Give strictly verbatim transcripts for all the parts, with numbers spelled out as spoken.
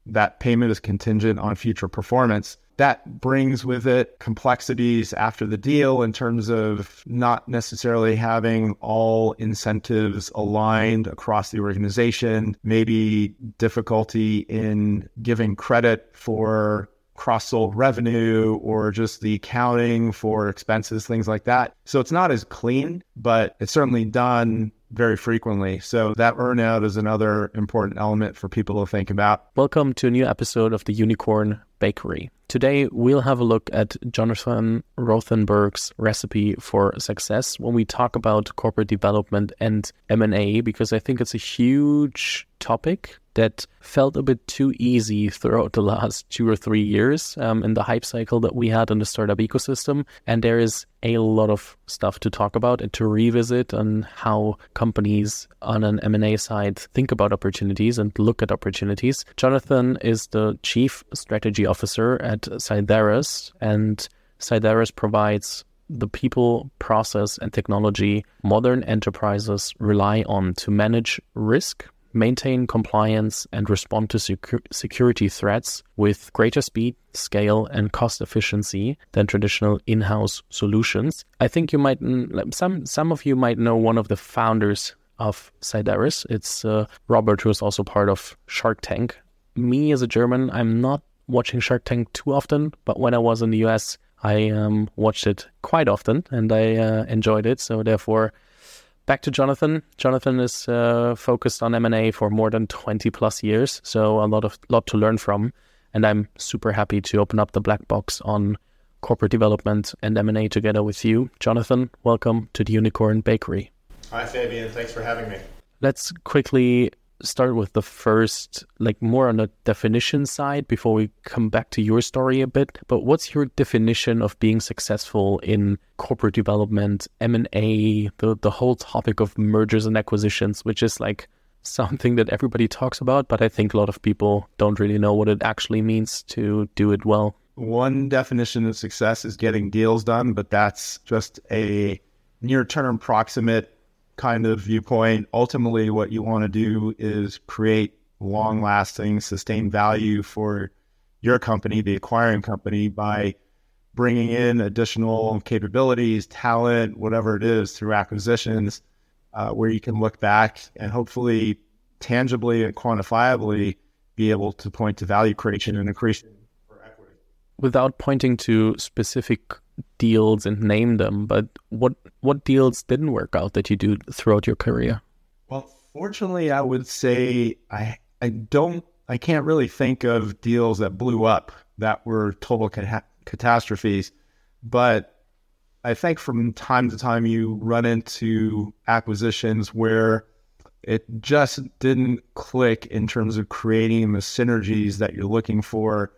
that payment is contingent on future performance. That brings with it complexities after the deal in terms of not necessarily having all incentives aligned across the organization, maybe difficulty in giving credit for cross-sold revenue or just the accounting for expenses, things like that. So it's not as clean, but it's certainly done very frequently. So that earnout is another important element for people to think about. Welcome to a new episode of the Unicorn Bakery. Today, we'll have a look at Jonathan Rothenberg's recipe for success when we talk about corporate development and M and A, because I think it's a huge topic that felt a bit too easy throughout the last two or three years um, in the hype cycle that we had in the startup ecosystem. And there is a lot of stuff to talk about and to revisit on how companies on an M and A side think about opportunities and look at opportunities. Jonathan is the Chief Strategy Officer at Sideris, and Sideris provides the people, process, and technology modern enterprises rely on to manage risk, maintain compliance, and respond to secu- security threats with greater speed, scale, and cost efficiency than traditional in-house solutions. I think you might, some some of you might know one of the founders of Sideris. It's uh, Robert, who is also part of Shark Tank. Me as a German, I'm not watching Shark Tank too often, but when I was in the U S, I um, watched it quite often and I uh, enjoyed it. So therefore, back to Jonathan. Jonathan is uh, focused on M and A for more than twenty plus years, so a lot of lot to learn from. And I'm super happy to open up the black box on corporate development and M and A together with you. Jonathan, welcome to the Unicorn Bakery. Hi, Fabian. Thanks for having me. Let's quickly start with the first, like more on the definition side before we come back to your story a bit. But what's your definition of being successful in corporate development, M and A, the, the whole topic of mergers and acquisitions, which is like something that everybody talks about, but I think a lot of people don't really know what it actually means to do it well. One definition of success is getting deals done, but that's just a near-term proximate kind of viewpoint. Ultimately, what you want to do is create long-lasting, sustained value for your company, the acquiring company, by bringing in additional capabilities, talent, whatever it is, through acquisitions, uh, where you can look back and hopefully tangibly and quantifiably be able to point to value creation and accretion for equity. Without pointing to specific deals and name them, but what what deals didn't work out that you do throughout your career? Well, fortunately, I would say I I don't I can't really think of deals that blew up that were total cat- catastrophes, but I think from time to time you run into acquisitions where it just didn't click in terms of creating the synergies that you're looking for.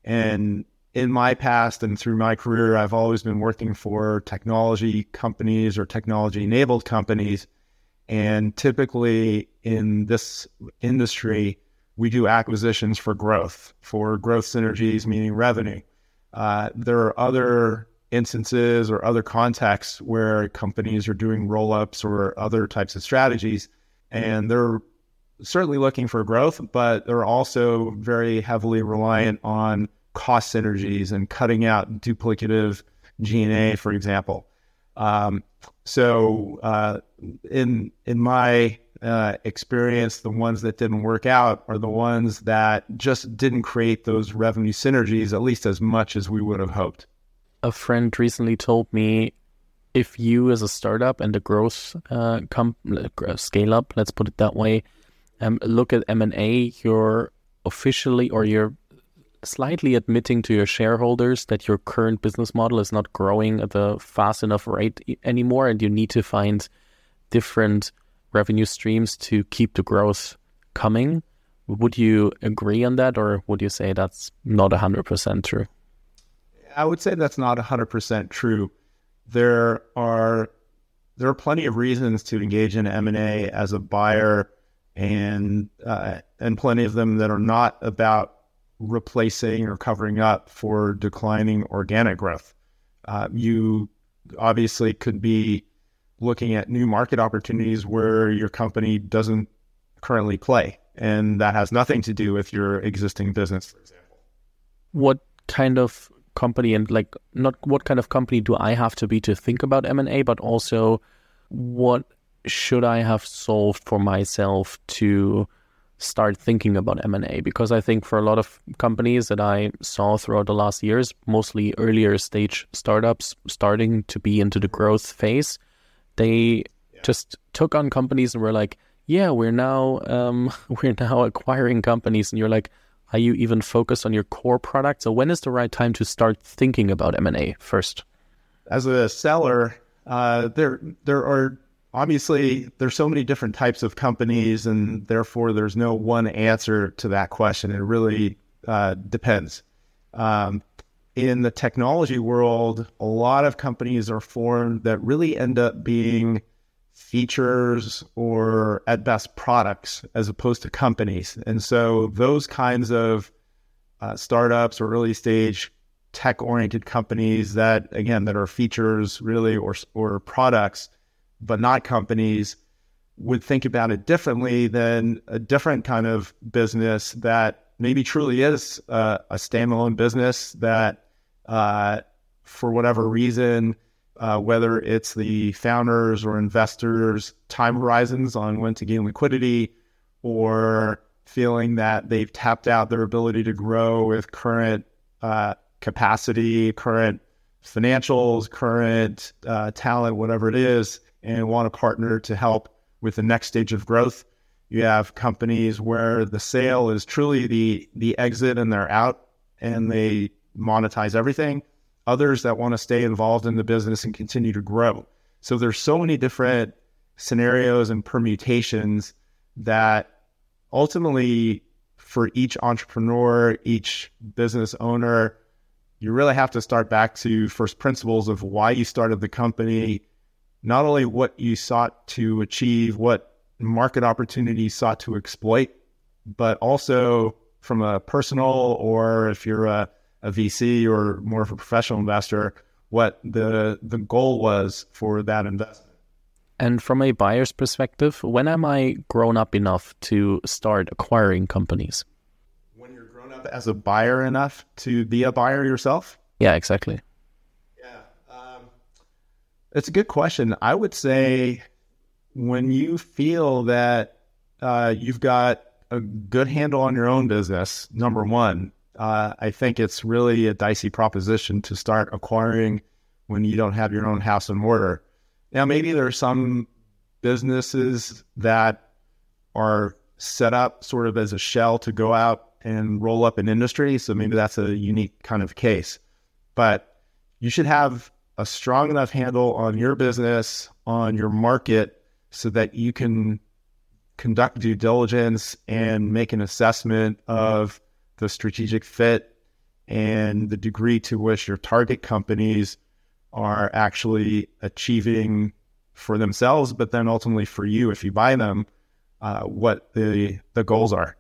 And in my past and through my career, I've always been working for technology companies or technology-enabled companies. And typically in this industry, we do acquisitions for growth, for growth synergies, meaning revenue. Uh, there are other instances or other contexts where companies are doing roll-ups or other types of strategies, and they're certainly looking for growth, but they're also very heavily reliant on cost synergies and cutting out duplicative G and A, for example. Um, so uh, in in my uh, experience, the ones that didn't work out are the ones that just didn't create those revenue synergies, at least as much as we would have hoped. A friend recently told me, if you as a startup and a growth uh, com- scale up, let's put it that way, um, look at M and A, you're officially or you're slightly admitting to your shareholders that your current business model is not growing at a fast enough rate anymore, and you need to find different revenue streams to keep the growth coming. Would you agree on that, or would you say that's not one hundred percent true? I would say that's not one hundred percent true. There are there are plenty of reasons to engage in M and A as a buyer, and uh, and plenty of them that are not about replacing or covering up for declining organic growth. Uh, you obviously could be looking at new market opportunities where your company doesn't currently play. And that has nothing to do with your existing business, for example. What kind of company and like not what kind of company do I have to be to think about M and A, but also what should I have solved for myself to start thinking about M and A? Because I think for a lot of companies that I saw throughout the last years, mostly earlier stage startups starting to be into the growth phase, they yeah. just took on companies and were like, yeah, we're now um, we're now acquiring companies. And you're like, are you even focused on your core product? So when is the right time to start thinking about M and A first? As a seller, uh, there there are obviously there's so many different types of companies, and therefore there's no one answer to that question. It really uh, depends. Um, in the technology world, a lot of companies are formed that really end up being features or at best products as opposed to companies. And so those kinds of uh, startups or early stage tech oriented companies that, again, that are features really or or products, but not companies, would think about it differently than a different kind of business that maybe truly is uh, a standalone business that uh, for whatever reason, Uh, whether it's the founders or investors' time horizons on when to gain liquidity, or feeling that they've tapped out their ability to grow with current uh, capacity, current financials, current uh, talent, whatever it is, and want a partner to help with the next stage of growth. You have companies where the sale is truly the the exit and they're out and they monetize everything. Others that want to stay involved in the business and continue to grow. So there's so many different scenarios and permutations that ultimately for each entrepreneur, each business owner, you really have to start back to first principles of why you started the company, not only what you sought to achieve, what market opportunity you sought to exploit, but also from a personal, or if you're a a V C or more of a professional investor, what the the goal was for that investment. And from a buyer's perspective, when am I grown up enough to start acquiring companies? When you're grown up as a buyer enough to be a buyer yourself? Yeah, exactly. Yeah, um, it's a good question. I would say when you feel that uh, you've got a good handle on your own business, number one, Uh, I think it's really a dicey proposition to start acquiring when you don't have your own house in order. Now, maybe there are some businesses that are set up sort of as a shell to go out and roll up an industry. So maybe that's a unique kind of case. But you should have a strong enough handle on your business, on your market, so that you can conduct due diligence and make an assessment of the strategic fit and the degree to which your target companies are actually achieving for themselves, but then ultimately for you, if you buy them, uh, what the the goals are.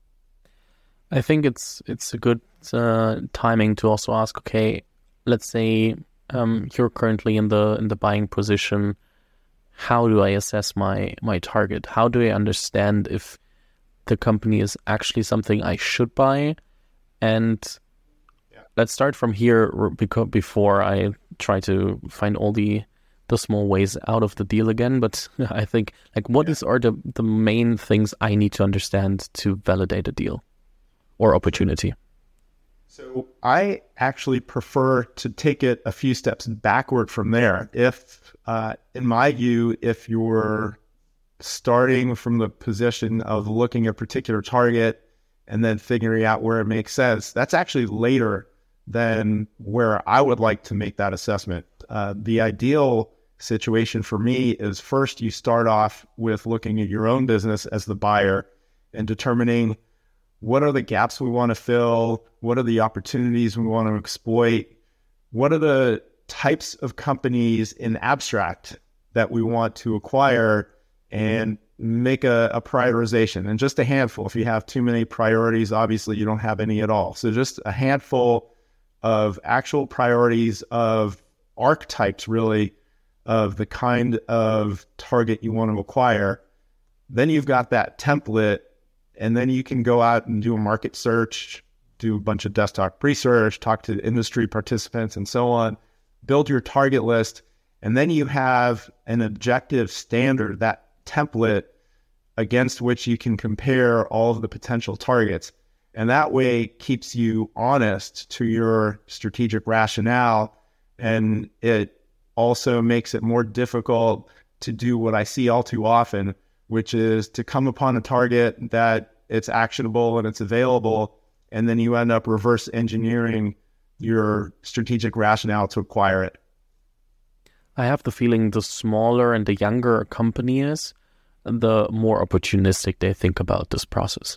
I think it's it's a good uh, timing to also ask. Okay, let's say um, you're currently in the in the buying position. How do I assess my my target? How do I understand if the company is actually something I should buy? And yeah. Let's start from here, because before I try to find all the the small ways out of the deal again. But I think, like, what yeah. is are the, the main things I need to understand to validate a deal or opportunity? So I actually prefer to take it a few steps backward from there. If, uh, in my view, if you're starting from the position of looking at a particular target and then figuring out where it makes sense, that's actually later than where I would like to make that assessment. Uh, the ideal situation for me is first you start off with looking at your own business as the buyer and determining what are the gaps we want to fill, what are the opportunities we want to exploit, what are the types of companies in abstract that we want to acquire, and make a, a prioritization. And just a handful. If you have too many priorities, obviously you don't have any at all. So just a handful of actual priorities, of archetypes really, of the kind of target you want to acquire. Then you've got that template And then you can go out and do a market search, do a bunch of desktop research, talk to industry participants and so on, build your target list. And then you have an objective standard, that template against which you can compare all of the potential targets. And that way keeps you honest to your strategic rationale. And it also makes it more difficult to do what I see all too often, which is to come upon a target that it's actionable and it's available, and then you end up reverse engineering your strategic rationale to acquire it. I have the feeling the smaller and the younger a company is, the more opportunistic they think about this process.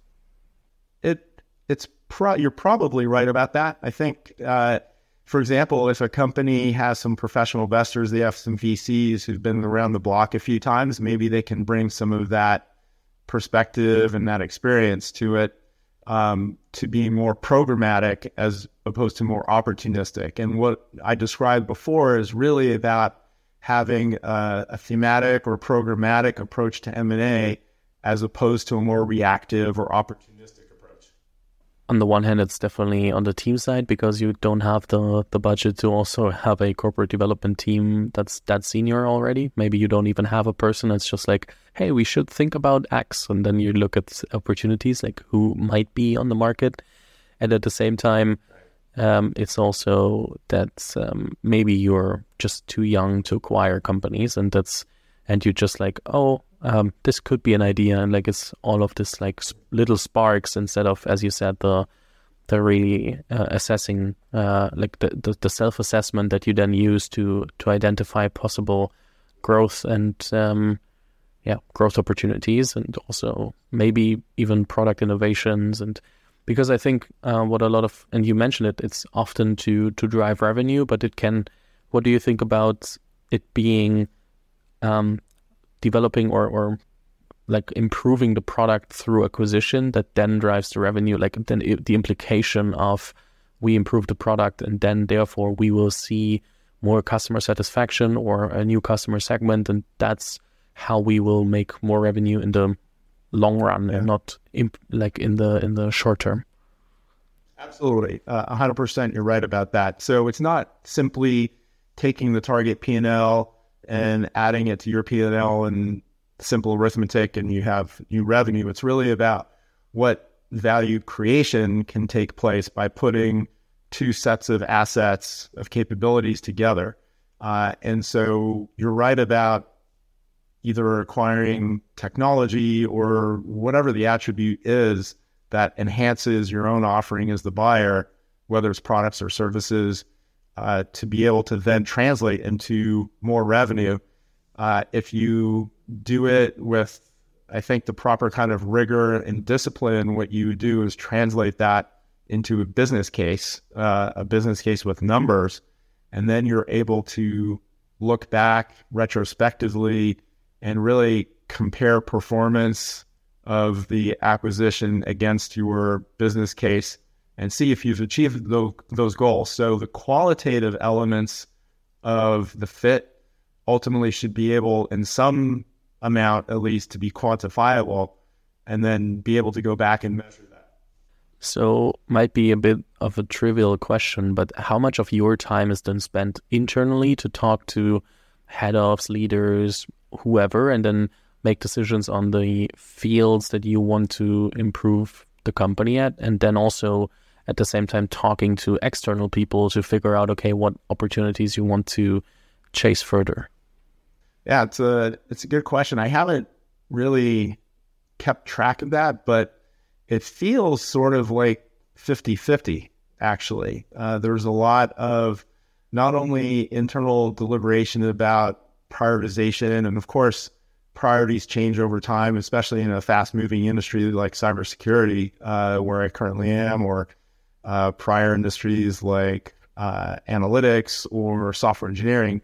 It it's pro- you're probably right about that. I think, uh, for example, if a company has some professional investors, they have some V Cs who've been around the block a few times, maybe they can bring some of that perspective and that experience to it, um, to be more programmatic as opposed to more opportunistic. And what I described before is really about having a, a thematic or programmatic approach to M and A as opposed to a more reactive or opportunistic approach. On the one hand, it's definitely on the team side because you don't have the, the budget to also have a corporate development team that's that senior already. Maybe you don't even have a person that's just like, hey, we should think about X. And then you look at opportunities like who might be on the market. And at the same time, um, it's also that um, maybe you're just too young to acquire companies, and that's and you're just like, oh, um, this could be an idea, and like it's all of this like little sparks instead of, as you said, the the really uh, assessing, uh, like the, the, the self-assessment that you then use to to identify possible growth and um, yeah, growth opportunities, and also maybe even product innovations. And because I think uh, what a lot of, and you mentioned it, it's often to to drive revenue, but it can. What do you think about it being um, developing or, or like improving the product through acquisition that then drives the revenue? Like then it, the implication of we improve the product and then therefore we will see more customer satisfaction or a new customer segment, and that's how we will make more revenue in the long run, yeah. and not imp- like in the in the short term. Absolutely, uh, one hundred percent. You're right about that. So it's not simply taking the target P and L and adding it to your P and L and simple arithmetic and you have new revenue. It's really about what value creation can take place by putting two sets of assets, of capabilities together. Uh, and so you're right about either acquiring technology or whatever the attribute is that enhances your own offering as the buyer, whether it's products or services, uh, to be able to then translate into more revenue. Uh, if you do it with, I think, the proper kind of rigor and discipline, what you do is translate that into a business case, uh, a business case with numbers, and then you're able to look back retrospectively and really compare performance of the acquisition against your business case and see if you've achieved those, those goals. So the qualitative elements of the fit ultimately should be able, in some amount at least, to be quantifiable and then be able to go back and measure that. So might be a bit of a trivial question, but how much of your time is then spent internally to talk to head ofs, leaders, whoever, and then make decisions on the fields that you want to improve the company at, and then also at the same time talking to external people to figure out, okay, what opportunities you want to chase further? Yeah, it's a it's a good question. I haven't really kept track of that, but it feels sort of like fifty-fifty, actually. Uh, there's a lot of not only internal deliberation about prioritization, and of course, priorities change over time, especially in a fast-moving industry like cybersecurity, uh, where I currently am, or uh, prior industries like uh, analytics or software engineering.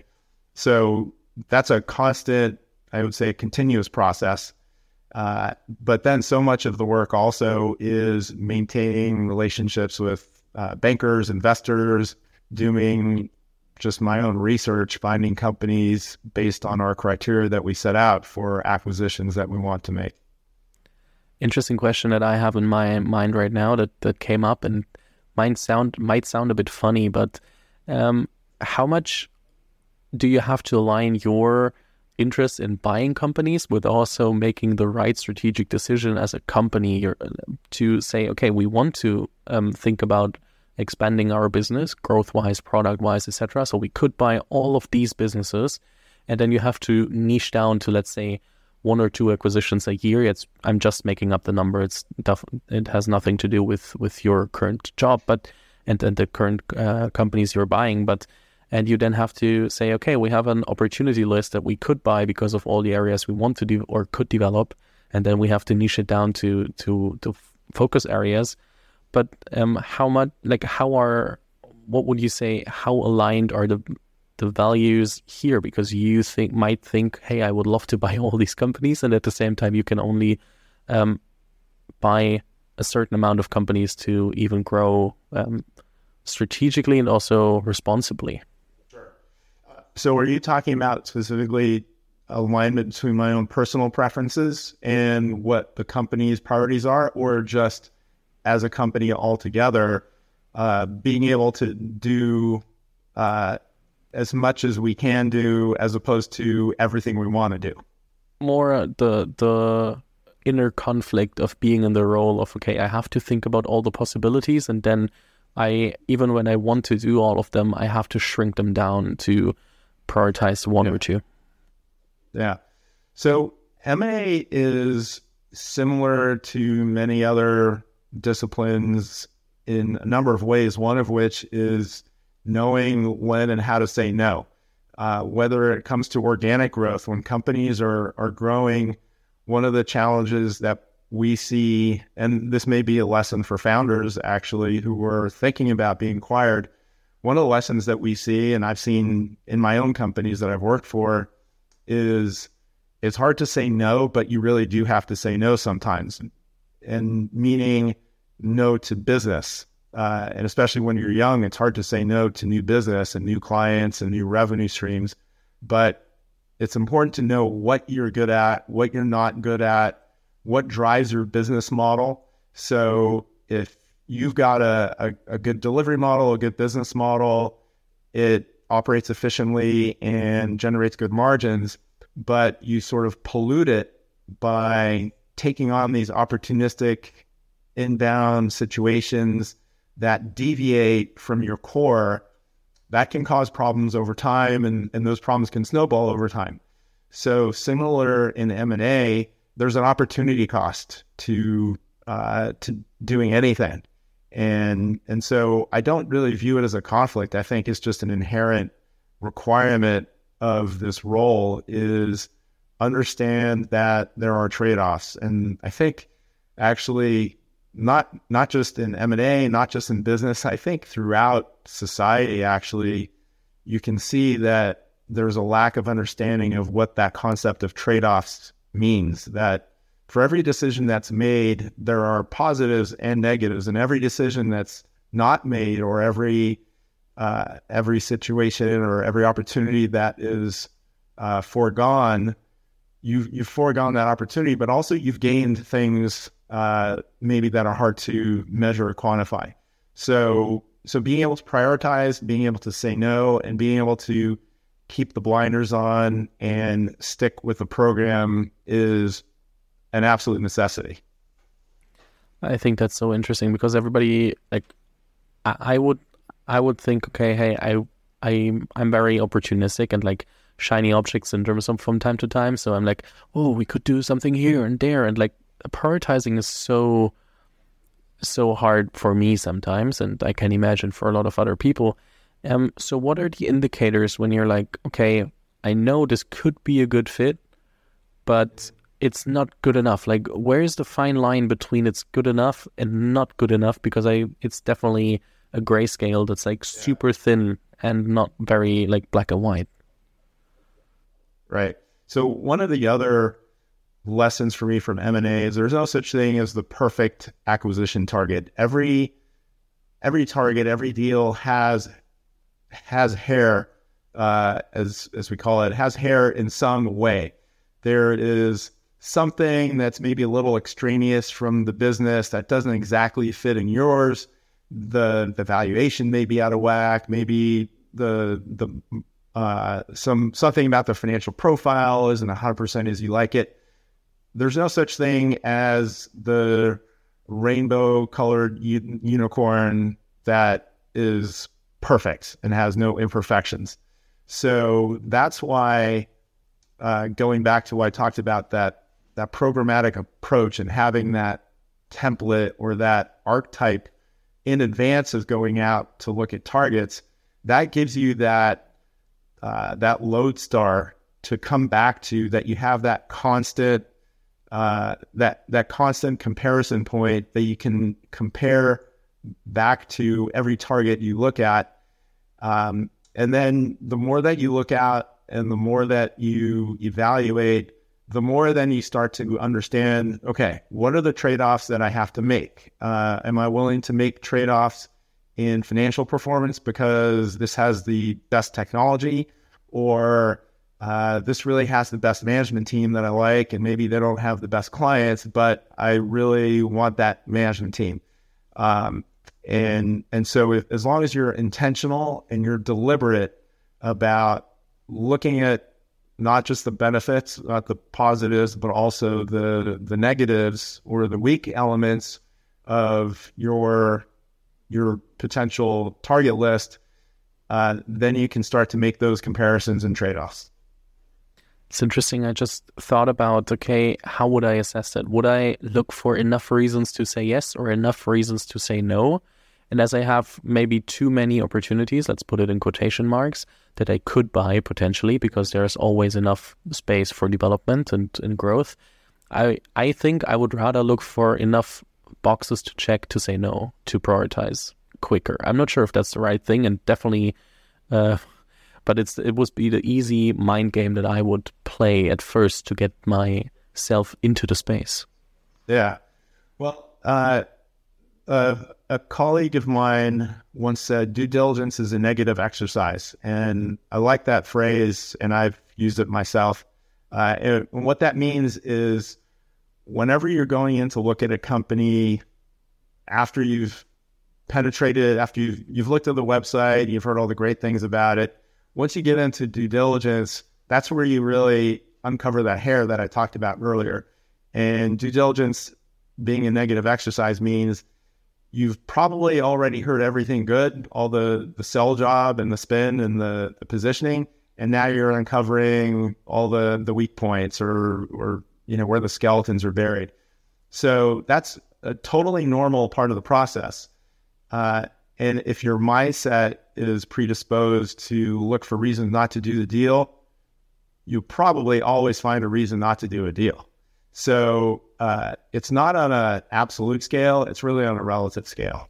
So that's a constant, I would say, continuous process. Uh, but then so much of the work also is maintaining relationships with uh, bankers, investors, doing just my own research, finding companies based on our criteria that we set out for acquisitions that we want to make. interesting question that I have in my mind right now that, that came up and might sound might sound a bit funny, but um, how much do you have to align your interest in buying companies with also making the right strategic decision as a company to say, okay, we want to um, think about expanding our business, growth-wise, product-wise, et cetera. So we could buy all of these businesses, and then you have to niche down to, let's say, one or two acquisitions a year. It's I'm just making up the number. It's it has nothing to do with with your current job, but and, and the current uh, companies you're buying. But and you then have to say, okay, we have an opportunity list that we could buy because of all the areas we want to do or could develop, and then we have to niche it down to to to focus areas. But um, how much, like, how are, what would you say, how aligned are the the values here? Because you think might think, hey, I would love to buy all these companies, and at the same time, you can only um, buy a certain amount of companies to even grow um, strategically and also responsibly. Sure. Uh, so, are you talking about specifically alignment between my own personal preferences and what the company's priorities are, or just as a company altogether, uh, being able to do uh, as much as we can do, as opposed to everything we want to do? More uh, the the inner conflict of being in the role of, okay, I have to think about all the possibilities, and then I, even when I want to do all of them, I have to shrink them down to prioritize one yeah. or two. Yeah. So M and A is similar to many other disciplines in a number of ways, one of which is knowing when and how to say no. Uh, whether it comes to organic growth, when companies are, are growing, one of the challenges that we see, and this may be a lesson for founders actually who are thinking about being acquired, one of the lessons that we see, and I've seen in my own companies that I've worked for, is it's hard to say no, but you really do have to say no sometimes. And meaning no to business. Uh, and especially when you're young, it's hard to say no to new business and new clients and new revenue streams. But it's important to know what you're good at, what you're not good at, what drives your business model. So if you've got a, a, a good delivery model, a good business model, it operates efficiently and generates good margins, but you sort of pollute it by taking on these opportunistic inbound situations that deviate from your core, that can cause problems over time, and, and those problems can snowball over time. So similar in M and A, there's an opportunity cost to uh, to doing anything. And and so I don't really view it as a conflict. I think it's just an inherent requirement of this role is understand that there are trade-offs. And I think actually not not just in M and A, not just in business, I think throughout society, actually, you can see that there's a lack of understanding of what that concept of trade-offs means, that for every decision that's made, there are positives and negatives, and every decision that's not made, or every uh, every situation or every opportunity that is uh, foregone, you've, you've foregone that opportunity, but also you've gained things uh, maybe that are hard to measure or quantify. So, so being able to prioritize, being able to say no, and being able to keep the blinders on and stick with the program is an absolute necessity. I think that's so interesting because everybody, like, I, I would, I would think, okay, hey, I, I, I'm very opportunistic and like shiny object syndrome some from time to time. So I'm like, oh, we could do something here and there, and like prioritizing is so, so hard for me sometimes, and I can imagine for a lot of other people. Um, so what are the indicators when you're like, okay, I know this could be a good fit, but it's not good enough? Like, where's the fine line between it's good enough and not good enough? Because I, it's definitely a grayscale that's like super yeah. thin and not very like black and white. Right. So one of the other lessons for me from M and A is there's no such thing as the perfect acquisition target. Every every target, every deal has has hair, uh, as as we call it, has hair in some way. There is something that's maybe a little extraneous from the business that doesn't exactly fit in yours. The the valuation may be out of whack. Maybe the the uh, some something about the financial profile isn't one hundred percent as you like it. There's no such thing as the rainbow-colored u- unicorn that is perfect and has no imperfections. So that's why, uh, going back to what I talked about, that that programmatic approach and having that template or that archetype in advance of going out to look at targets, that gives you that uh, that lodestar to come back to, that you have that constant uh, that that constant comparison point that you can compare back to every target you look at. Um, and then the more that you look at and the more that you evaluate, the more then you start to understand, okay, what are the trade-offs that I have to make? Uh, am I willing to make trade-offs in financial performance because this has the best technology, or uh, this really has the best management team that I like, and maybe they don't have the best clients, but I really want that management team. Um, and and so if, as long as you're intentional and you're deliberate about looking at not just the benefits, not the positives, but also the the negatives or the weak elements of your your potential target list, uh, then you can start to make those comparisons and trade-offs. It's interesting. I just thought about, okay, how would I assess that? Would I look for enough reasons to say yes or enough reasons to say no? And as I have maybe too many opportunities, let's put it in quotation marks, that I could buy potentially, because there's always enough space for development and, and growth, I I think I would rather look for enough boxes to check to say no, to prioritize quicker. I'm not sure if that's the right thing, and definitely, uh, but it's it would be the easy mind game that I would play at first to get myself into the space. Yeah. Well, uh, uh, a colleague of mine once said, due diligence is a negative exercise. And I like that phrase, and I've used it myself. Uh, and what that means is whenever you're going in to look at a company, after you've penetrated, after you've, you've looked at the website, you've heard all the great things about it, once you get into due diligence, that's where you really uncover that hair that I talked about earlier. And due diligence being a negative exercise means you've probably already heard everything good, all the, the sell job and the spin and the, the positioning, and now you're uncovering all the, the weak points or, or, you know, where the skeletons are buried. So that's a totally normal part of the process. Uh, and if your mindset is predisposed to look for reasons not to do the deal, you probably always find a reason not to do a deal. So uh, it's not on an absolute scale, it's really on a relative scale.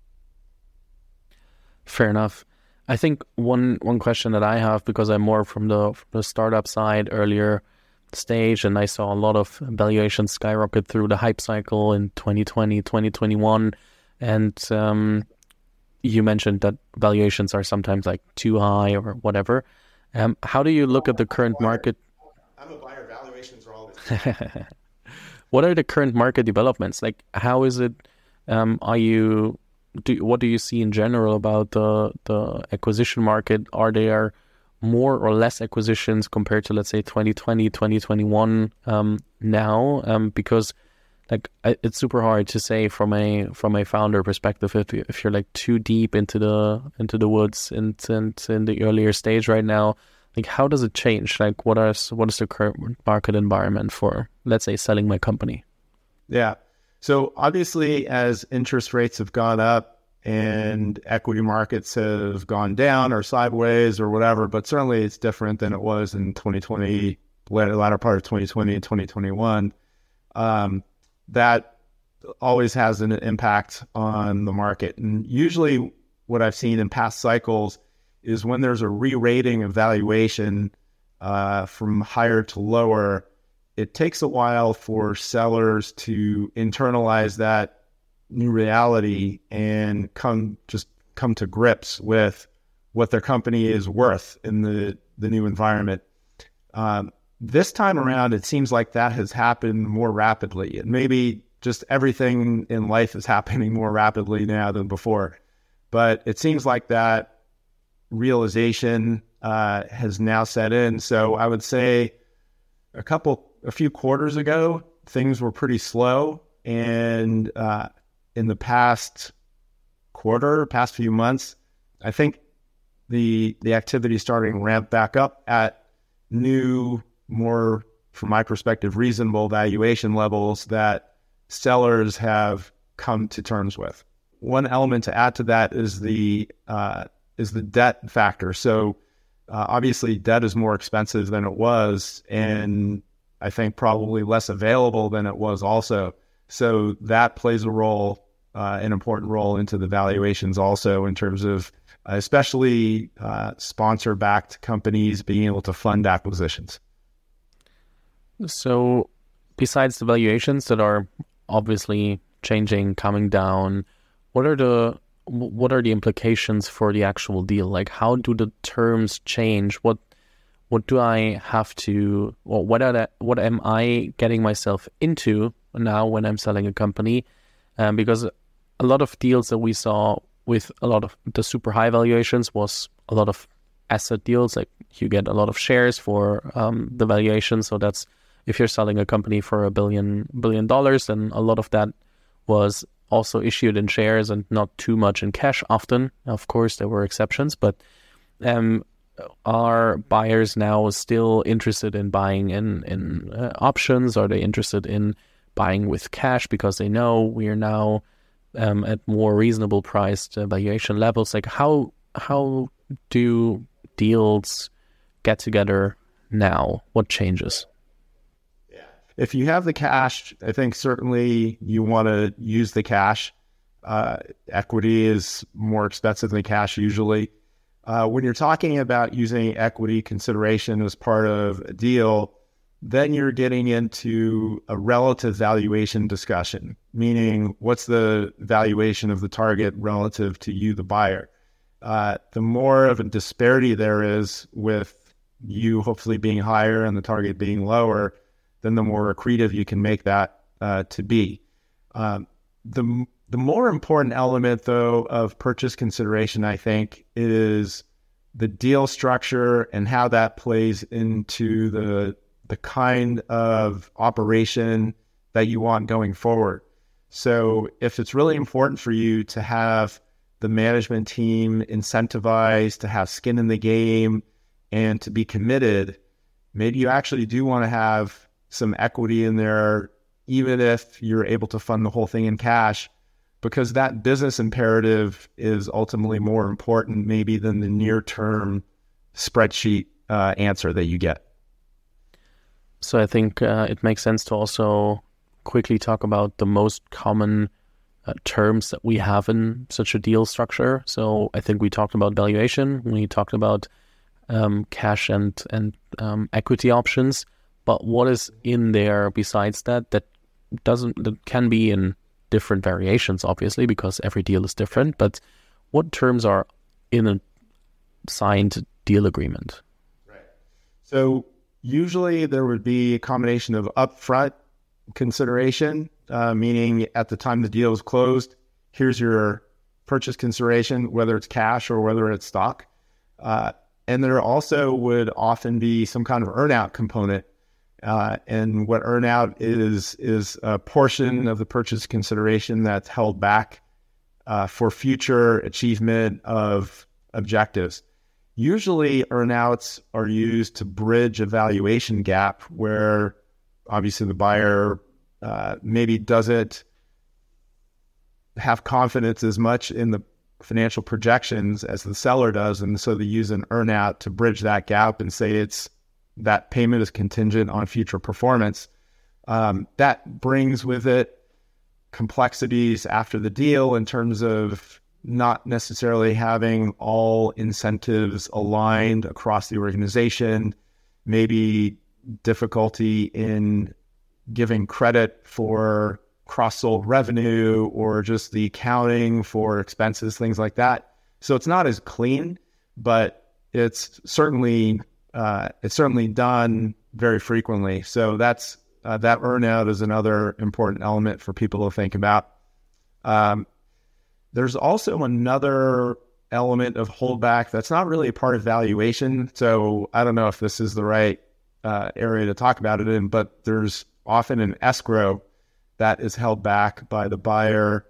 Fair enough. I think one one question that I have, because I'm more from the, from the startup side earlier stage, and I saw a lot of valuations skyrocket through the hype cycle in twenty twenty, twenty twenty-one. And um, you mentioned that valuations are sometimes like too high or whatever. Um, how do you look at the current market? I'm a buyer. Valuations are always. What are the current market developments? Like, how is it? Um, are you? Do what do you see in general about the the acquisition market? Are there more or less acquisitions compared to, let's say, twenty twenty, twenty twenty-one um, now? Um, because like I, it's super hard to say from a from a founder perspective if you, if you're like too deep into the into the woods and, and in the earlier stage right now. Like, how does it change? Like, what are what is the current market environment for, let's say, selling my company? Yeah. So obviously, as interest rates have gone up and equity markets have gone down or sideways or whatever, but certainly it's different than it was in twenty twenty, latter, latter part of twenty twenty and twenty twenty-one. Um, that always has an impact on the market. And usually what I've seen in past cycles is when there's a re-rating of valuation uh, from higher to lower, it takes a while for sellers to internalize that new reality and come just come to grips with what their company is worth in the, the new environment. Um, this time around, it seems like that has happened more rapidly. And maybe just everything in life is happening more rapidly now than before. But it seems like that realization uh, has now set in. So I would say a couple, a few quarters ago, things were pretty slow. And uh, in the past quarter, past few months, I think the the activity is starting to ramp back up at new, more, from my perspective, reasonable valuation levels that sellers have come to terms with. One element to add to that is the uh, is the debt factor. So uh, obviously, debt is more expensive than it was, and I think probably less available than it was also. So that plays a role, uh, an important role into the valuations also, in terms of uh, especially uh, sponsor-backed companies being able to fund acquisitions. So besides the valuations that are obviously changing, coming down, what are the what are the implications for the actual deal? Like, how do the terms change? What what do I have to, or what are the, what am I getting myself into now when I'm selling a company? Um, because a lot of deals that we saw with a lot of the super high valuations was a lot of asset deals. Like, you get a lot of shares for um, the valuation. So that's, if you're selling a company for a billion billion dollars, then a lot of that was also issued in shares and not too much in cash often. Of course, there were exceptions, but um, are buyers now still interested in buying in, in uh, options? Are they interested in buying with cash because they know we are now um, at more reasonable priced uh, valuation levels? Like, how how do deals get together now? What changes? If you have the cash, I think certainly you want to use the cash. Uh, equity is more expensive than cash usually. Uh, when you're talking about using equity consideration as part of a deal, then you're getting into a relative valuation discussion, meaning what's the valuation of the target relative to you, the buyer. Uh, the more of a disparity there is with you hopefully being higher and the target being lower, then the more accretive you can make that uh, to be. Um, the the more important element, though, of purchase consideration, I think, is the deal structure and how that plays into the the kind of operation that you want going forward. So if it's really important for you to have the management team incentivized, to have skin in the game, and to be committed, maybe you actually do want to have some equity in there, even if you're able to fund the whole thing in cash, because that business imperative is ultimately more important maybe than the near-term spreadsheet uh, answer that you get. So I think uh, it makes sense to also quickly talk about the most common uh, terms that we have in such a deal structure. So I think we talked about valuation, we talked about um, cash and, and um, equity options. But what is in there besides that that doesn't that can be in different variations, obviously, because every deal is different. But what terms are in a signed deal agreement? Right. So usually there would be a combination of upfront consideration, uh, meaning at the time the deal is closed, here's your purchase consideration, whether it's cash or whether it's stock. Uh, and there also would often be some kind of earnout component. Uh, and what earnout is, is a portion of the purchase consideration that's held back uh, for future achievement of objectives. Usually earnouts are used to bridge a valuation gap where obviously the buyer uh, maybe doesn't have confidence as much in the financial projections as the seller does. And so they use an earnout to bridge that gap and say it's that payment is contingent on future performance. Um, that brings with it complexities after the deal in terms of not necessarily having all incentives aligned across the organization, maybe difficulty in giving credit for cross-sold revenue or just the accounting for expenses, things like that. So it's not as clean, but it's certainly uh, it's certainly done very frequently. So that's uh, that earnout is another important element for people to think about. Um, there's also another element of holdback that's not really a part of valuation. So I don't know if this is the right uh, area to talk about it in, but there's often an escrow that is held back by the buyer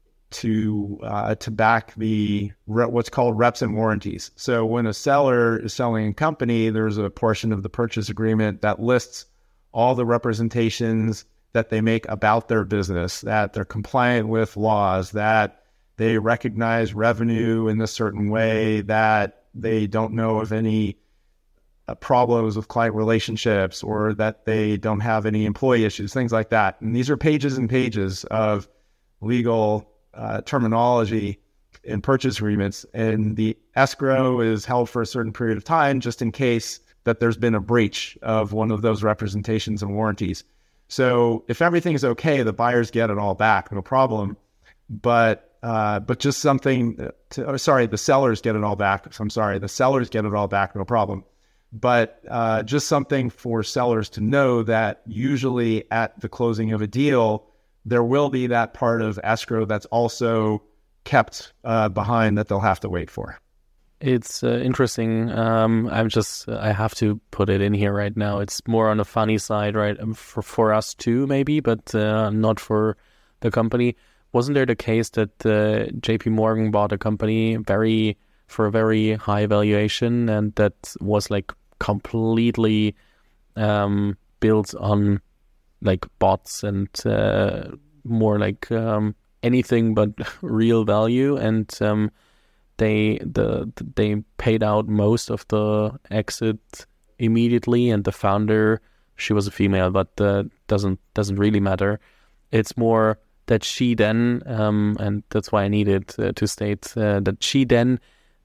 to uh, to back the what's called reps and warranties. So when a seller is selling a company, there's a portion of the purchase agreement that lists all the representations that they make about their business, that they're compliant with laws, that they recognize revenue in a certain way, that they don't know of any uh, problems with client relationships, or that they don't have any employee issues, things like that. And these are pages and pages of legal uh, terminology in purchase agreements. And the escrow is held for a certain period of time, just in case that there's been a breach of one of those representations and warranties. So if everything's okay, the buyers get it all back, no problem. But uh, but just something, to, oh, sorry, the sellers get it all back. I'm sorry, the sellers get it all back, no problem. But uh, just something for sellers to know that usually at the closing of a deal, there will be that part of escrow that's also kept uh, behind that they'll have to wait for. It's uh, interesting. Um, I'm just, I have to put it in here right now. It's more on the funny side, right? For, for us too, maybe, but uh, not for the company. Wasn't there the case that uh, J P Morgan bought a company very for a very high valuation, and that was like completely um, built on like bots and uh, more like um, anything but real value, and um, they the they paid out most of the exit immediately, and the founder, she was a female, but uh, doesn't doesn't really matter. It's more that she then, um, and that's why I needed uh, to state uh, that she then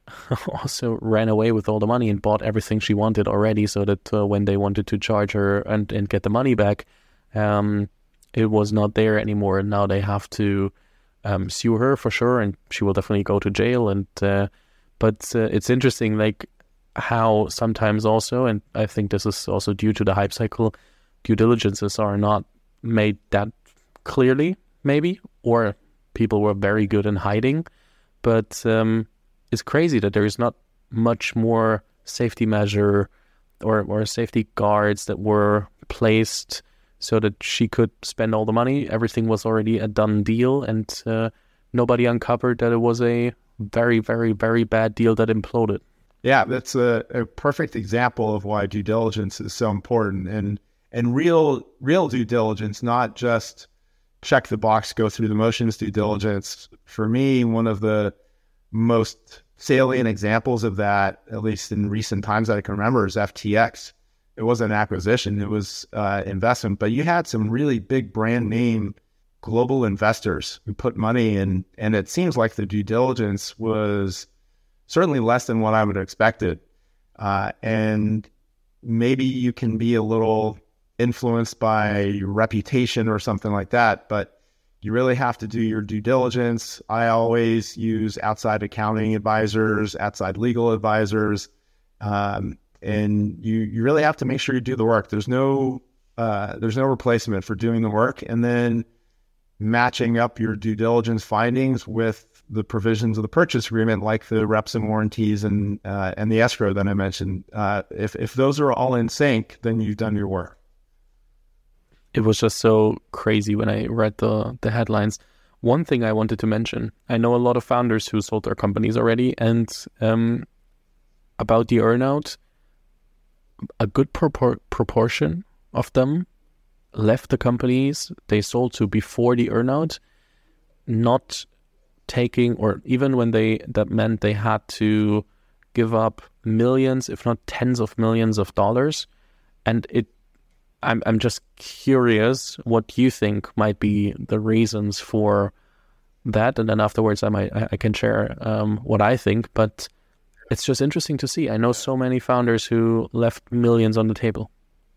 also ran away with all the money and bought everything she wanted already, so that uh, when they wanted to charge her and, and get the money back, um, it was not there anymore. And now they have to um, sue her for sure, and she will definitely go to jail. And uh, but uh, it's interesting, like how sometimes also, and I think this is also due to the hype cycle, due diligences are not made that clearly, maybe, or people were very good in hiding. But um, it's crazy that there is not much more safety measure or, or safety guards that were placed so that she could spend all the money. Everything was already a done deal, and uh, nobody uncovered that it was a very, very, very bad deal that imploded. Yeah, that's a, a perfect example of why due diligence is so important, and and real real due diligence, not just check the box, go through the motions due diligence. For me, one of the most salient examples of that, at least in recent times that I can remember, is F T X. It wasn't an acquisition, it was uh, investment, but you had some really big brand name global investors who put money in, and it seems like the due diligence was certainly less than what I would have expected. Uh, and maybe you can be a little influenced by your reputation or something like that, but you really have to do your due diligence. I always use outside accounting advisors, outside legal advisors, um, and you, you really have to make sure you do the work. There's no uh, there's no replacement for doing the work, and then matching up your due diligence findings with the provisions of the purchase agreement, like the reps and warranties and uh, and the escrow that I mentioned. Uh, if if those are all in sync, then you've done your work. It was just so crazy when I read the, the headlines. One thing I wanted to mention, I know a lot of founders who sold their companies already, and um, about the earnout, a good propor- proportion of them left the companies they sold to before the earnout, not taking, or even when they, that meant they had to give up millions, if not tens of millions of dollars. And it I'm I'm just curious what you think might be the reasons for that, and then afterwards I might I, I can share um, what I think. But it's just interesting to see. I know so many founders who left millions on the table.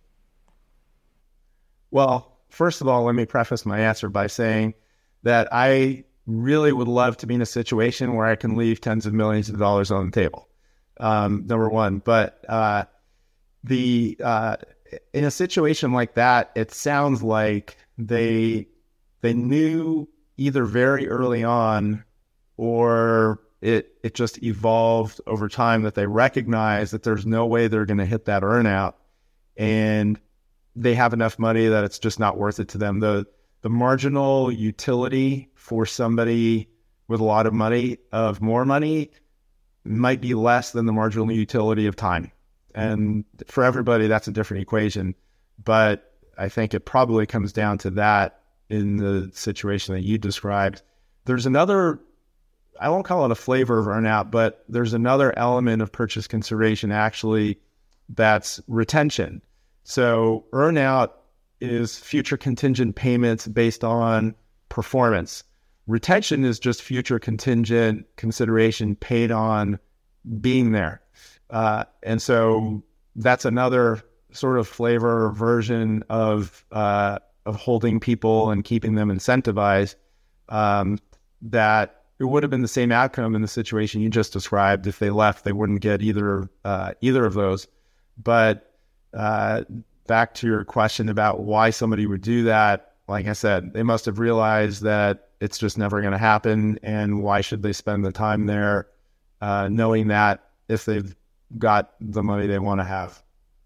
Well, first of all, let me preface my answer by saying that I really would love to be in a situation where I can leave tens of millions of dollars on the table. Um, number one, but uh, the uh, in a situation like that, it sounds like they they knew either very early on, or it it just evolved over time that they recognize that there's no way they're going to hit that earnout, and they have enough money that it's just not worth it to them. The the marginal utility for somebody with a lot of money, of more money, might be less than the marginal utility of time. And for everybody, that's a different equation. But I think it probably comes down to that in the situation that you described. There's another, I won't call it a flavor of earnout, but there's another element of purchase consideration actually that's retention. So earnout is future contingent payments based on performance. Retention is just future contingent consideration paid on being there. Uh, and so that's another sort of flavor or version of uh, of holding people and keeping them incentivized, um, that it would have been the same outcome in the situation you just described. If they left, they wouldn't get either uh, either of those. But uh, back to your question about why somebody would do that, like I said, they must have realized that it's just never going to happen, and why should they spend the time there uh, knowing that if they've got the money they want to have?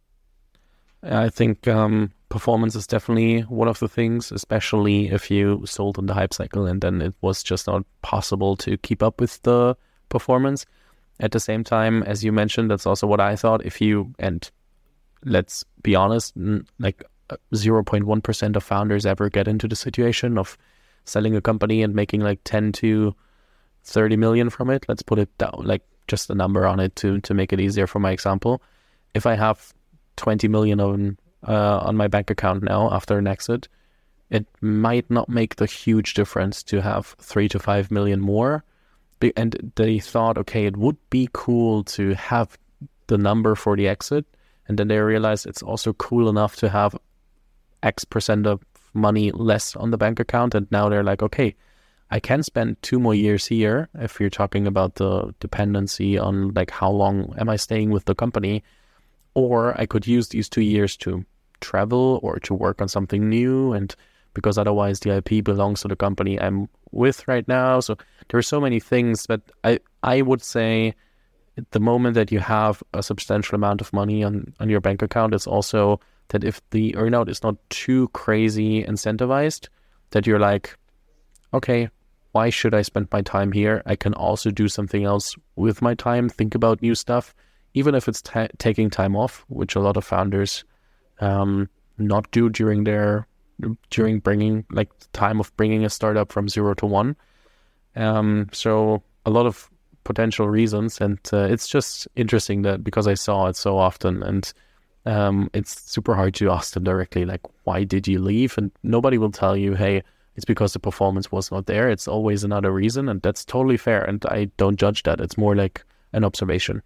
I think um, performance is definitely one of the things, especially if you sold in the hype cycle and then it was just not possible to keep up with the performance. At the same time, as you mentioned, that's also what I thought. If you, and let's be honest, like zero point one percent of founders ever get into the situation of selling a company and making like ten to thirty million from it. Let's put it down, like just a number on it to to make it easier for my example. If I have twenty million on uh, on my bank account now after an exit, it might not make the huge difference to have three to five million more. And they thought, okay, it would be cool to have the number for the exit, and then they realized it's also cool enough to have X percent of money less on the bank account, and now they're like, okay, I can spend two more years here if you're talking about the dependency on like how long am I staying with the company, or I could use these two years to travel or to work on something new, and because otherwise the I P belongs to the company I'm with right now. So there are so many things, but I, I would say the moment that you have a substantial amount of money on, on your bank account, it's also that if the earnout is not too crazy incentivized, that you're like, okay, why should I spend my time here? I can also do something else with my time, think about new stuff, even if it's ta- taking time off, which a lot of founders um, not do during their during bringing like the time of bringing a startup from zero to one. Um, so a lot of potential reasons, and uh, it's just interesting that because I saw it so often, and um, it's super hard to ask them directly, like, why did you leave? And nobody will tell you, hey, it's because the performance was not there. It's always another reason, and that's totally fair. And I don't judge that. It's more like an observation.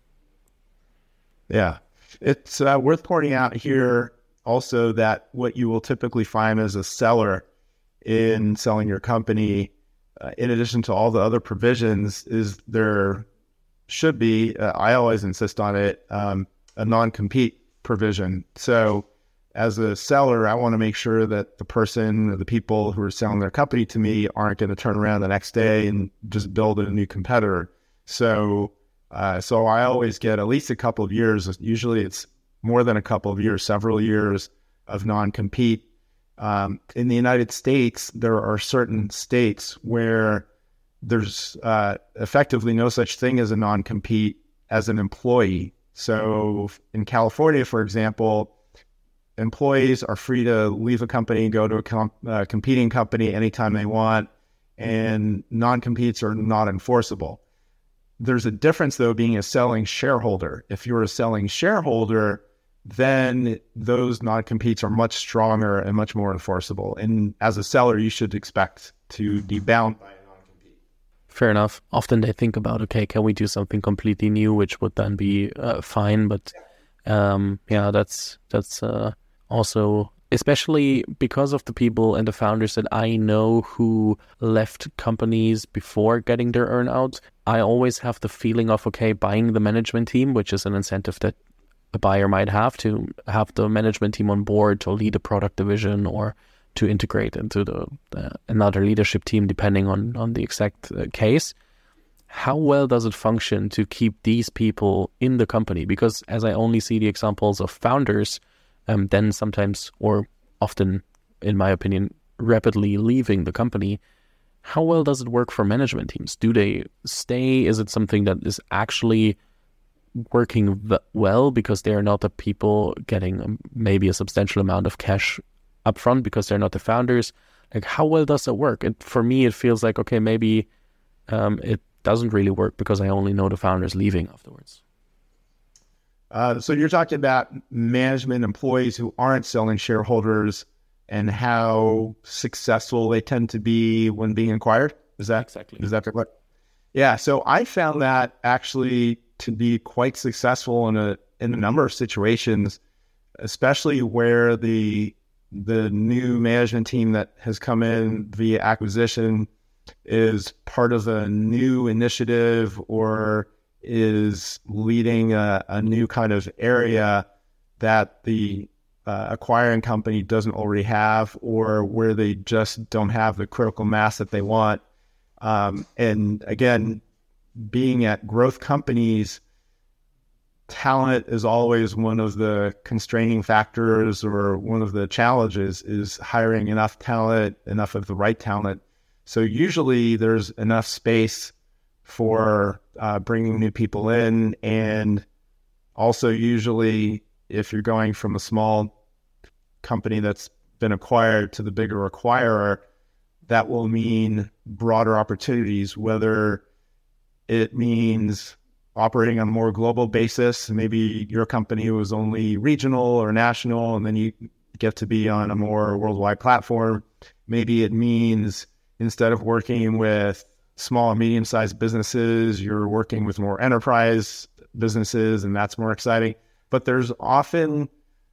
Yeah. It's uh, worth pointing out here also that what you will typically find as a seller in selling your company, uh, in addition to all the other provisions, is there should be, uh, I always insist on it, um, a non-compete provision. So as a seller, I want to make sure that the person or the people who are selling their company to me aren't going to turn around the next day and just build a new competitor. So, uh, so I always get at least a couple of years. Usually it's more than a couple of years, several years of non-compete. Um, in the United States, there are certain states where there's uh, effectively no such thing as a non-compete as an employee. So in California, for example, employees are free to leave a company and go to a com- uh, competing company anytime they want, and non-competes are not enforceable. There's a difference, though, being a selling shareholder. If you're a selling shareholder, then those non-competes are much stronger and much more enforceable. And as a seller, you should expect to be bound by a non-compete. Fair enough. Often they think about, okay, can we do something completely new, which would then be uh, fine. But um, yeah, that's that's uh, also, especially because of the people and the founders that I know who left companies before getting their earnout, I always have the feeling of, okay, buying the management team, which is an incentive that a buyer might have to have the management team on board to lead a product division or to integrate into the uh, another leadership team, depending on, on the exact uh, case. How well does it function to keep these people in the company? Because as I only see the examples of founders, um, then sometimes, or often, in my opinion, rapidly leaving the company, how well does it work for management teams? Do they stay? Is it something that is actually working v- well because they're not the people getting um, maybe a substantial amount of cash upfront because they're not the founders? Like, how well does it work? And for me, it feels like, okay, maybe um, it doesn't really work because I only know the founders leaving afterwards. Uh, so you're talking about management employees who aren't selling shareholders and how successful they tend to be when being acquired? Is that exactly? Is that correct? Yeah. So I found that actually to be quite successful in a in a number of situations, especially where the the new management team that has come in via acquisition is part of a new initiative or is leading a, a new kind of area that the uh, acquiring company doesn't already have, or where they just don't have the critical mass that they want. Um, and again, being at growth companies, talent is always one of the constraining factors, or one of the challenges is hiring enough talent, enough of the right talent. So usually there's enough space for uh, bringing new people in. And also usually if you're going from a small company that's been acquired to the bigger acquirer, that will mean broader opportunities, whether it means operating on a more global basis. Maybe your company was only regional or national, and then you get to be on a more worldwide platform. Maybe it means instead of working with small and medium-sized businesses, you're working with more enterprise businesses, and that's more exciting. But there's often,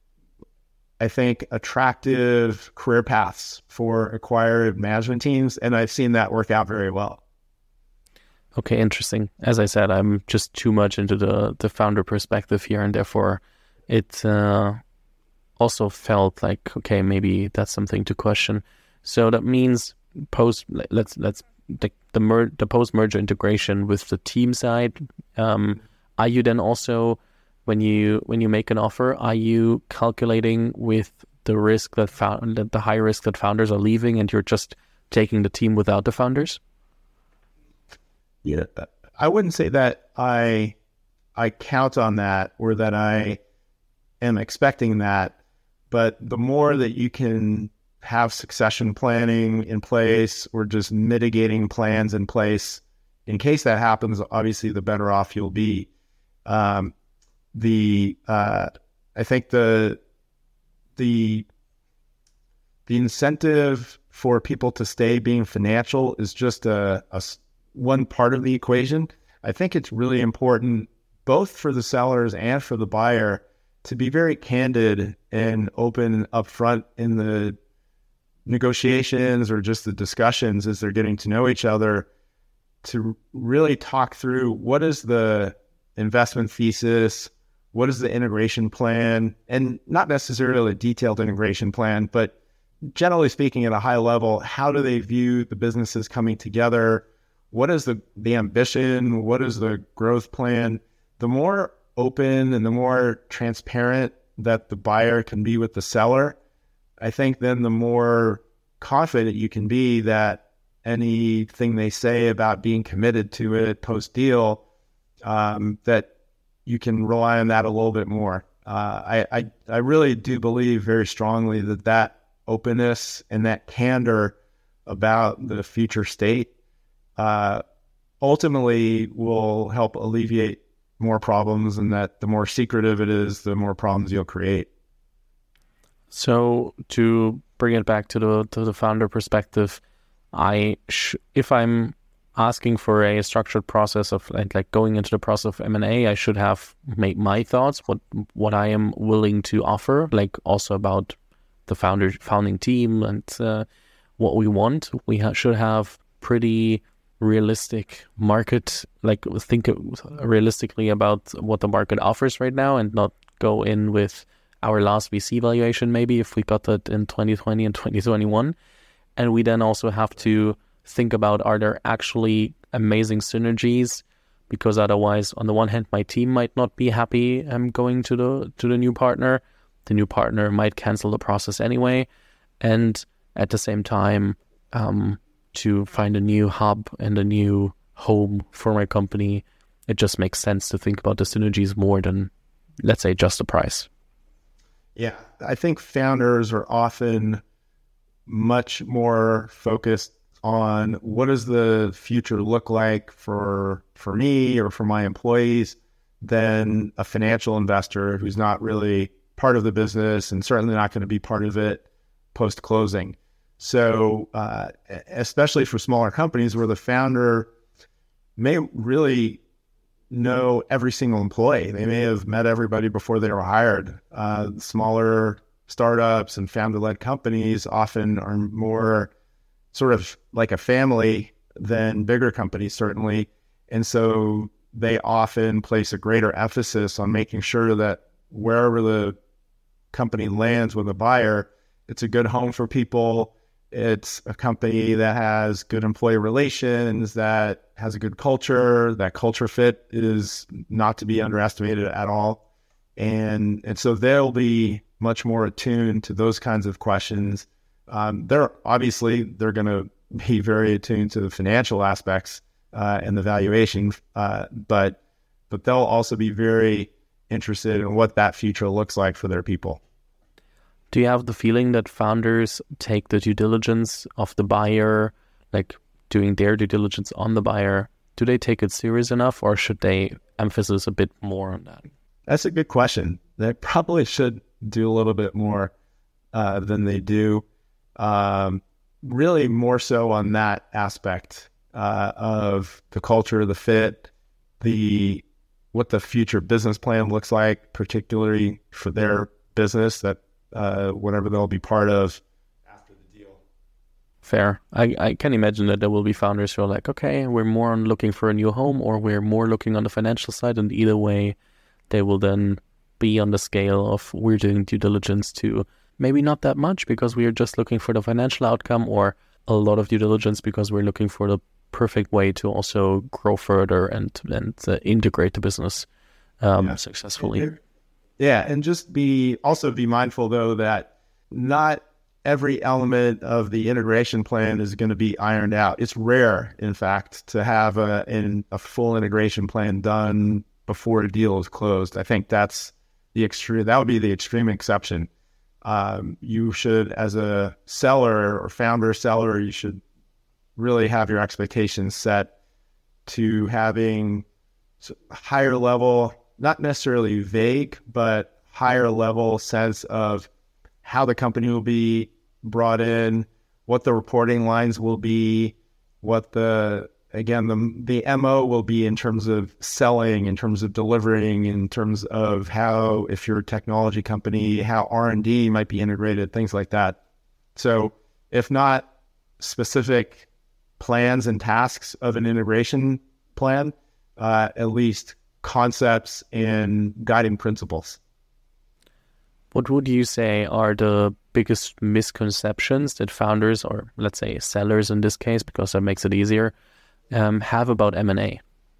I think, attractive career paths for acquired management teams, and I've seen that work out very well. Okay, interesting. As I said, I'm just too much into the, the founder perspective here, and therefore it uh, also felt like, okay, maybe that's something to question. So that means post, let's let's the the, mer- the post merger integration with the team side. Um, are you then also, when you when you make an offer, are you calculating with the risk that found that the high risk that founders are leaving, and you're just taking the team without the founders? Yeah, I wouldn't say that I I count on that or that I am expecting that, but the more that you can have succession planning in place or just mitigating plans in place in case that happens, obviously the better off you'll be. Um, the uh, I think the the the incentive for people to stay being financial is just a, a one part of the equation. I think it's really important both for the sellers and for the buyer to be very candid and open upfront in the negotiations or just the discussions as they're getting to know each other, to really talk through what is the investment thesis, what is the integration plan, and not necessarily a detailed integration plan, but generally speaking at a high level, how do they view the businesses coming together? What is the, the ambition? What is the growth plan? The more open and the more transparent that the buyer can be with the seller, I think then the more confident you can be that anything they say about being committed to it post-deal, um, that you can rely on that a little bit more. Uh, I, I, I really do believe very strongly that that openness and that candor about the future state uh, ultimately will help alleviate more problems, and that the more secretive it is, the more problems you'll create. So to bring it back to the to the founder perspective, I sh- if I'm asking for a structured process of like, like going into the process of M and A, I should have made my thoughts, what what I am willing to offer, like also about the founder founding team and uh, what we want. We ha- should have pretty realistic market, like think realistically about what the market offers right now, and not go in with our last V C valuation, maybe if we got that in twenty twenty and twenty twenty-one. And we then also have to think about, are there actually amazing synergies? Because otherwise, on the one hand, my team might not be happy um, going to the to the new partner. The new partner might cancel the process anyway. And at the same time, um, to find a new hub and a new home for my company, it just makes sense to think about the synergies more than, let's say, just the price. Yeah, I think founders are often much more focused on what does the future look like for for me or for my employees than a financial investor who's not really part of the business and certainly not going to be part of it post-closing. So uh, especially for smaller companies where the founder may really know every single employee. They may have met everybody before they were hired. Uh, smaller startups and founder-led companies often are more sort of like a family than bigger companies, certainly. And so they often place a greater emphasis on making sure that wherever the company lands with a buyer, it's a good home for people. It's a company that has good employee relations, that has a good culture. That culture fit is not to be underestimated at all. And, and so they'll be much more attuned to those kinds of questions. Um, they're obviously, they're going to be very attuned to the financial aspects uh, and the valuation, uh, but but they'll also be very interested in what that future looks like for their people. Do you have the feeling that founders take the due diligence of the buyer, like doing their due diligence on the buyer? Do they take it serious enough, or should they emphasize a bit more on that? That's a good question. They probably should do a little bit more uh, than they do. Um, really more so on that aspect uh, of the culture, the fit, the what the future business plan looks like, particularly for their business, that uh, whatever they'll be part of after the deal. Fair. I, I can imagine that there will be founders who are like, okay, we're more on looking for a new home, or we're more looking on the financial side, and either way, they will then be on the scale of we're doing due diligence to maybe not that much because we are just looking for the financial outcome, or a lot of due diligence because we're looking for the perfect way to also grow further and and uh, integrate the business um, yeah. successfully. Yeah, and just be also be mindful though that not every element of the integration plan is going to be ironed out. It's rare, in fact, to have a in a full integration plan done before a deal is closed. I think that's the extreme. That would be the extreme exception. Um, you should, as a seller or founder seller, you should really have your expectations set to having higher level, not necessarily vague, but higher level sense of how the company will be brought in, what the reporting lines will be, what the, again, the, the M O will be in terms of selling, in terms of delivering, in terms of how, if you're a technology company, how R and D might be integrated, things like that. So if not specific plans and tasks of an integration plan, uh, at least concepts and guiding principles. What would you say are the biggest misconceptions that founders, or let's say sellers in this case, because that makes it easier, um, have about M and A?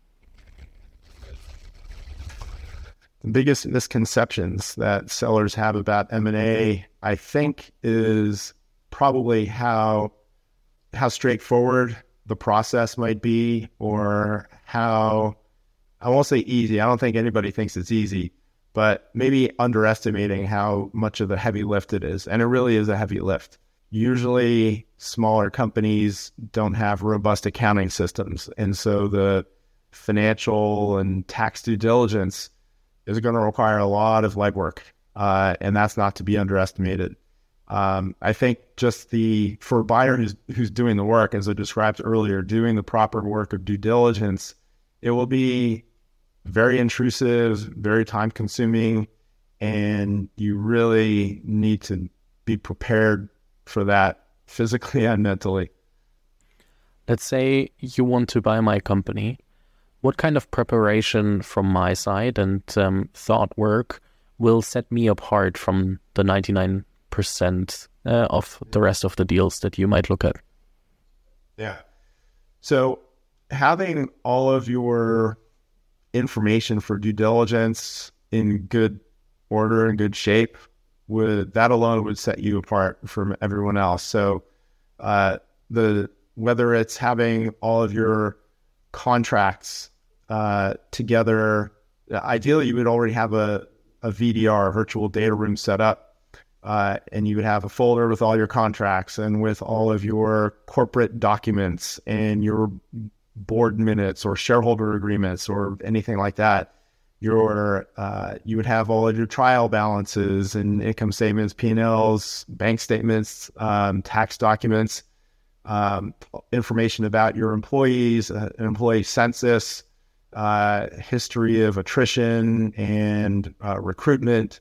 The biggest misconceptions that sellers have about M and A, I think, is probably how how straightforward the process might be, or how, I won't say easy. I don't think anybody thinks it's easy, but maybe underestimating how much of the heavy lift it is. And it really is a heavy lift. Usually smaller companies don't have robust accounting systems. And so the financial and tax due diligence is going to require a lot of legwork. Uh, and that's not to be underestimated. Um, I think just the, for a buyer who's, who's doing the work, as I described earlier, doing the proper work of due diligence, it will be very intrusive, very time consuming, and you really need to be prepared for that physically and mentally. Let's say you want to buy my company. What kind of preparation from my side and um, thought work will set me apart from the ninety-nine percent uh, of the rest of the deals that you might look at? Yeah. So having all of your information for due diligence in good order and good shape, would that alone would set you apart from everyone else. So uh, the whether it's having all of your contracts uh, together, ideally you would already have a, a V D R, a virtual data room set up, uh, and you would have a folder with all your contracts and with all of your corporate documents and your board minutes or shareholder agreements or anything like that. Your uh, you would have all of your trial balances and income statements, P and L's, bank statements, um, tax documents, um, information about your employees, uh, an employee census, uh, history of attrition and uh, recruitment.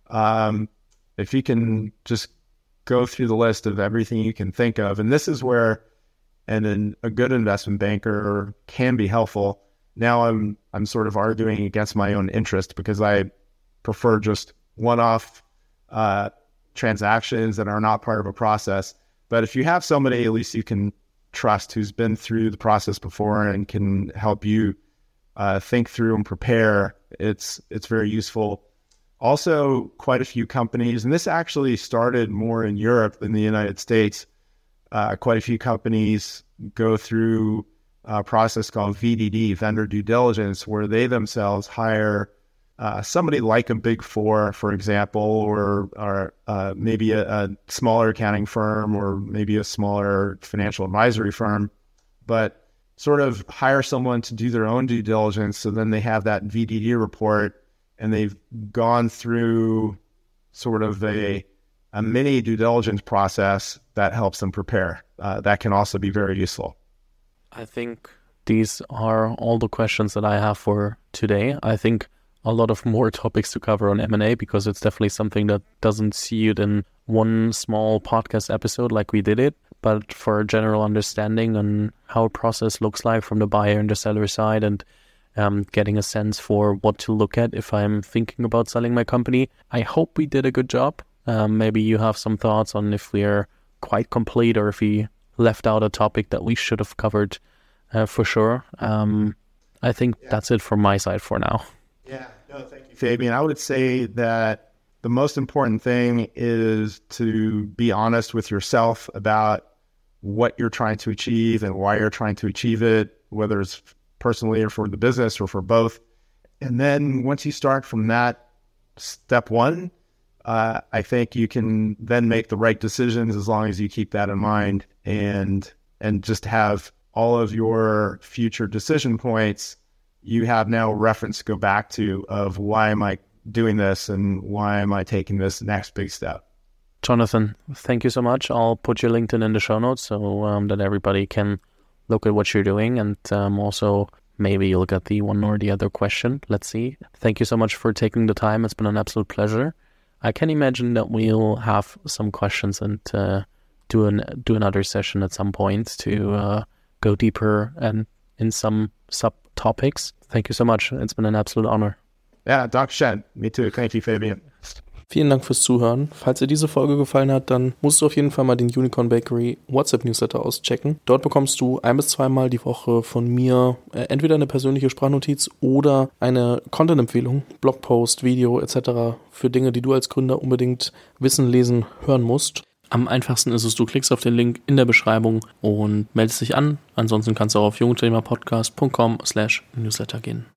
Um, if you can just go through the list of everything you can think of, and this is where and an, a good investment banker can be helpful. Now I'm I'm sort of arguing against my own interest because I prefer just one-off uh, transactions that are not part of a process. But if you have somebody at least you can trust who's been through the process before and can help you uh, think through and prepare, it's it's very useful. Also, quite a few companies, and this actually started more in Europe than the United States. Uh, quite a few companies go through a process called V D D, vendor due diligence, where they themselves hire uh, somebody like a Big Four, for example, or, or uh, maybe a, a smaller accounting firm or maybe a smaller financial advisory firm, but sort of hire someone to do their own due diligence. So then they have that V D D report and they've gone through sort of a a mini due diligence process that helps them prepare. Uh, that can also be very useful. I think these are all the questions that I have for today. I think a lot of more topics to cover on M and A because it's definitely something that doesn't see it in one small podcast episode like we did it, but for a general understanding on how a process looks like from the buyer and the seller side and um, getting a sense for what to look at if I'm thinking about selling my company. I hope we did a good job. Um, maybe you have some thoughts on if we're quite complete or if we left out a topic that we should have covered uh, for sure. Um, I think yeah. That's it from my side for now. Yeah, no, thank you, Fabian. I would say that the most important thing is to be honest with yourself about what you're trying to achieve and why you're trying to achieve it, whether it's personally or for the business or for both. And then once you start from that step one, Uh, I think you can then make the right decisions as long as you keep that in mind and and just have all of your future decision points. You have now a reference to go back to of why am I doing this and why am I taking this next big step. Jonathan, thank you so much. I'll put your LinkedIn in the show notes so um, that everybody can look at what you're doing and um, also maybe you'll get the one or the other question. Let's see. Thank you so much for taking the time. It's been an absolute pleasure. I can imagine that we'll have some questions and uh, do an do another session at some point to uh, go deeper and in some subtopics. Thank you so much. It's been an absolute honor. Yeah, Danke schön. Me too. Thank you, Fabian. Vielen Dank fürs Zuhören. Falls dir diese Folge gefallen hat, dann musst du auf jeden Fall mal den Unicorn Bakery WhatsApp-Newsletter auschecken. Dort bekommst du ein bis zweimal die Woche von mir äh, entweder eine persönliche Sprachnotiz oder eine Content-Empfehlung, Blogpost, Video et cetera für Dinge, die du als Gründer unbedingt wissen, lesen, hören musst. Am einfachsten ist es, du klickst auf den Link in der Beschreibung und meldest dich an. Ansonsten kannst du auch auf jungunternehmerpodcast punkt com slash newsletter gehen.